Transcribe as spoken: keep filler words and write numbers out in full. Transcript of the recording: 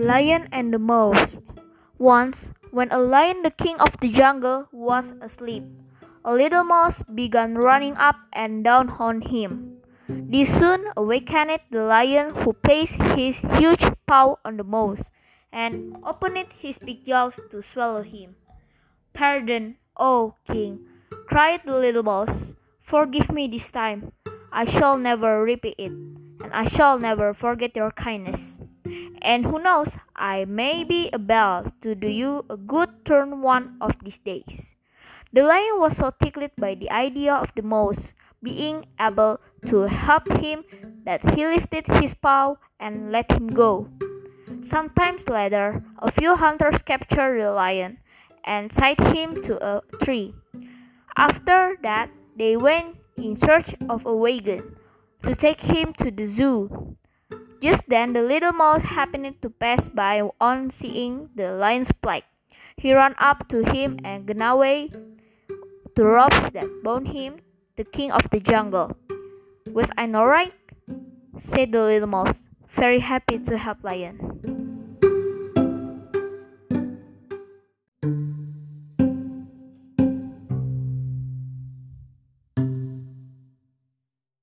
Lion and the Mouse. Once, when a lion, the king of the jungle, was asleep, a little mouse began running up and down on him. This soon awakened the lion, who placed his huge paw on the mouse and opened his big jaws to swallow him. "Pardon, oh king," cried the little mouse. "Forgive me this time. I shall never repeat it, and I shall never forget your kindness. And who knows, I may be able to do you a good turn one of these days." The lion was so tickled by the idea of the mouse being able to help him that he lifted his paw and let him go. Sometimes later, a few hunters captured the lion and tied him to a tree. After that, they went in search of a wagon to take him to the zoo. Just then, the little mouse happened to pass by. On seeing the lion's plight, he ran up to him and gnawed away the ropes that bound him, the king of the jungle. "Was I not right?" said the little mouse, very happy to help Lion.